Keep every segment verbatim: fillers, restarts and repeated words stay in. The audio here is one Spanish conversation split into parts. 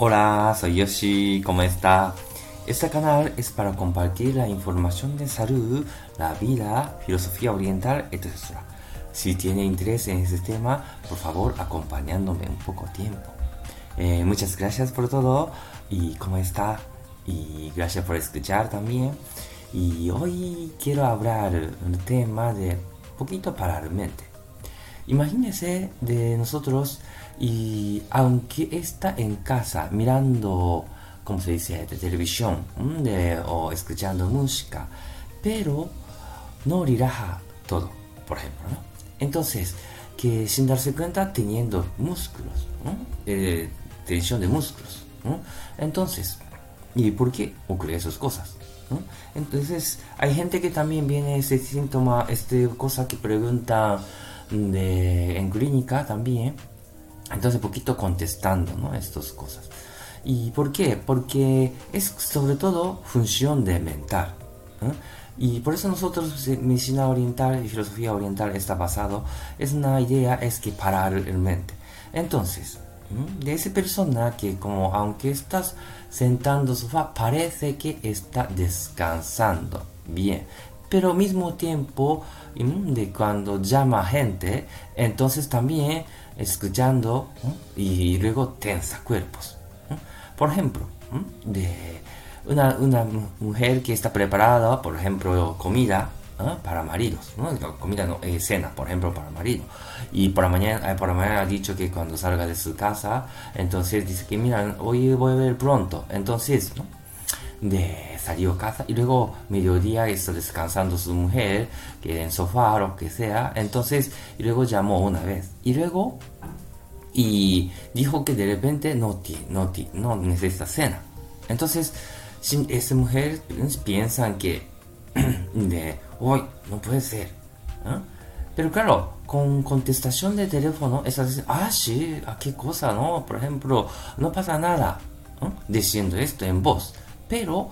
Hola, soy Yoshi, ¿cómo está? Este canal es para compartir la información de salud, la vida, filosofía oriental, etcétera. Si tiene interés en este tema, por favor, acompañándome un poco tiempo. Eh, muchas gracias por todo y cómo está. Y gracias por escuchar también. Y hoy quiero hablar un tema de poquito para la mente. Imagínese de nosotros y aunque está en casa mirando, como se dice, de televisión de, o escuchando música, pero no relaja todo, por ejemplo, ¿no? Entonces, que sin darse cuenta teniendo músculos, ¿no? eh, tensión de músculos, ¿no? Entonces, ¿y por qué ocurre esas cosas? ¿No? Entonces, hay gente que también viene ese síntoma, este cosa que pregunta de, en clínica también. Entonces, poquito contestando, ¿no? Estas cosas. ¿Y por qué? Porque es sobre todo función de mental, ¿no? Y por eso nosotros, medicina oriental y filosofía oriental está basado, es una idea, es que parar el mente. Entonces, de esa persona que como aunque estás sentando en sofá, parece que está descansando bien, pero al mismo tiempo de cuando llama gente, entonces también escuchando y luego tensa cuerpos. Por ejemplo, de una, una mujer que está preparada, por ejemplo, comida, ¿no? Para maridos, ¿no? Comida, no, eh, cena, por ejemplo, para marido. Y por la mañana, eh, por la mañana ha dicho que cuando salga de su casa, entonces dice que mira, hoy voy a ver pronto. Entonces, ¿no? De salió a casa y luego mediodía está descansando su mujer, que en sofá o lo que sea. Entonces, y luego llamó una vez. Y luego, y dijo que de repente no, no, no necesita cena. Entonces, esa mujer piensa que de hoy no puede ser, ¿no? Pero claro, con contestación de teléfono, esa dice, ah, sí, ¿a qué cosa, no? Por ejemplo, no pasa nada, ¿no? Diciendo esto en voz. Pero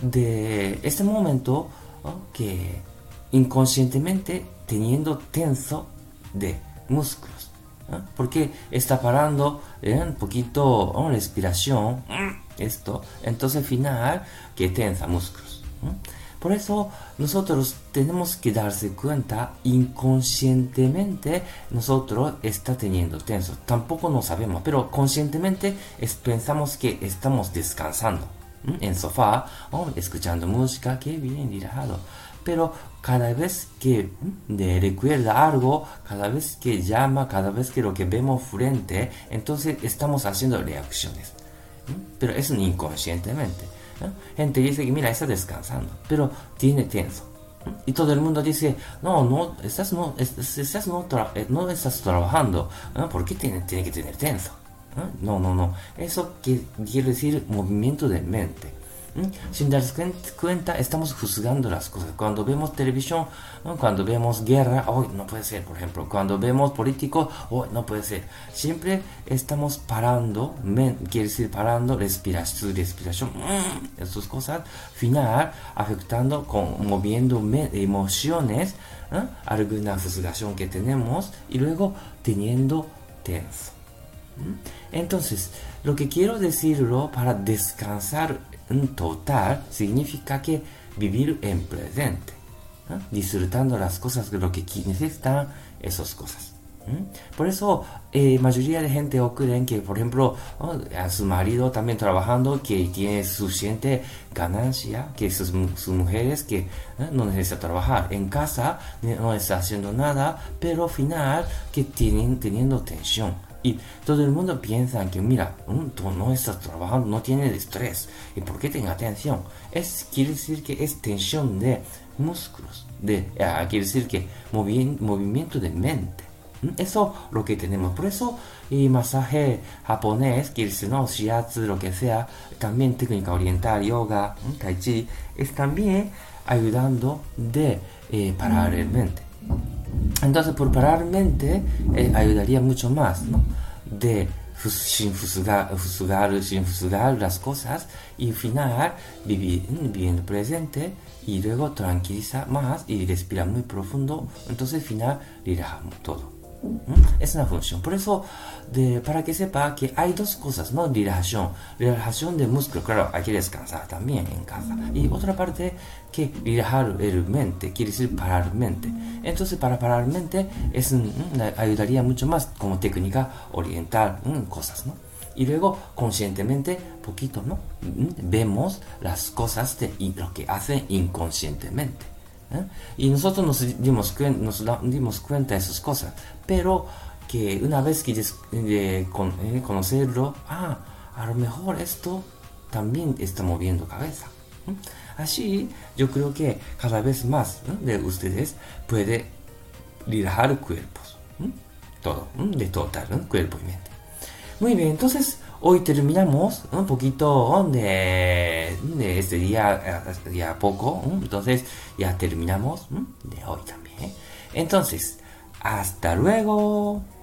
de este momento, ¿no? Que inconscientemente teniendo tenso de músculos, ¿no? Porque está parando ¿eh? un poquito ¿no? respiración, esto, entonces al final que tensa músculos, ¿no? Por eso nosotros tenemos que darse cuenta inconscientemente nosotros está teniendo tenso. Tampoco no sabemos, pero conscientemente es, pensamos que estamos descansando ¿m? En sofá o escuchando música, que bien relajado. Pero cada vez que de recuerda algo, cada vez que llama, cada vez que lo que vemos frente, entonces estamos haciendo reacciones. ¿M? Pero es inconscientemente. ¿no? Gente dice que mira, está descansando, pero tiene tenso. ¿no? Y todo el mundo dice, no, no, estás no, estás no, tra no estás trabajando, ¿no? ¿Por qué tiene, tiene que tener tenso? ¿no? no, no, no. Eso que quiere decir movimiento de mente. ¿Mm? Sin darse cuenta, estamos juzgando las cosas. Cuando vemos televisión, ¿no? Cuando vemos guerra, hoy oh, no puede ser, por ejemplo. Cuando vemos políticos, hoy oh, no puede ser. Siempre estamos parando, men, quiere decir parando, respiración, respiración, mmm, esas cosas, final, afectando, con, moviendo me, emociones, ¿eh? Alguna juzgación que tenemos y luego teniendo tenso. Entonces, lo que quiero decirlo para descansar en total significa que vivir en presente, ¿no? Disfrutando las cosas de lo que necesitan esas cosas. ¿Mm? Por eso, eh, mayoría de gente ocurre que, por ejemplo, ¿no? a su marido también trabajando, que tiene suficiente ganancia, que sus, sus mujeres que ¿eh? no necesita trabajar. En casa no está haciendo nada, pero al final que tienen teniendo tensión. Y todo el mundo piensa que, mira, tú no estás trabajando, no tienes estrés. ¿Y por qué tenga tensión? Es, quiere decir que es tensión de músculos. De, eh, quiere decir que movi movimiento de mente. Eso es lo que tenemos. Por eso, y masaje japonés, quiere decir, no, shiatsu, lo que sea, también técnica oriental, yoga, tai chi, es también ayudando de eh, parar el mente. Entonces, por parar mente eh, ayudaría mucho más, ¿no? De sin juzgar, juzgar, sin juzgar las cosas y al final vivir, viviendo presente y luego tranquiliza más y respira muy profundo. Entonces, al final relajamos todo. ¿Mm? Es una función. Por eso, de, para que sepa que hay dos cosas, ¿no? Relajación. Relajación de músculo. Claro, hay que descansar también en casa. Y otra parte, que relajar el mente, quiere decir parar mente. Entonces, para parar mente, es, mm, ayudaría mucho más como técnica oriental, mm, cosas, ¿no? Y luego, conscientemente, poquito, ¿no? Mm, Vemos las cosas de lo que hacen inconscientemente. ¿eh? Y nosotros nos dimos, cuen- nos da- dimos cuenta de esas cosas, pero que una vez que des- eh, con- eh, conocerlo, ah, a lo mejor esto también está moviendo cabeza. ¿eh? Así, yo creo que cada vez más, ¿eh? de ustedes puede relajar cuerpos, ¿eh? todo, ¿eh? de total, ¿eh? cuerpo y mente. Muy bien, entonces hoy terminamos un poquito de, de este día, eh, día poco, ¿eh? Entonces ya terminamos, ¿eh? de hoy también. ¿eh? Entonces, hasta luego.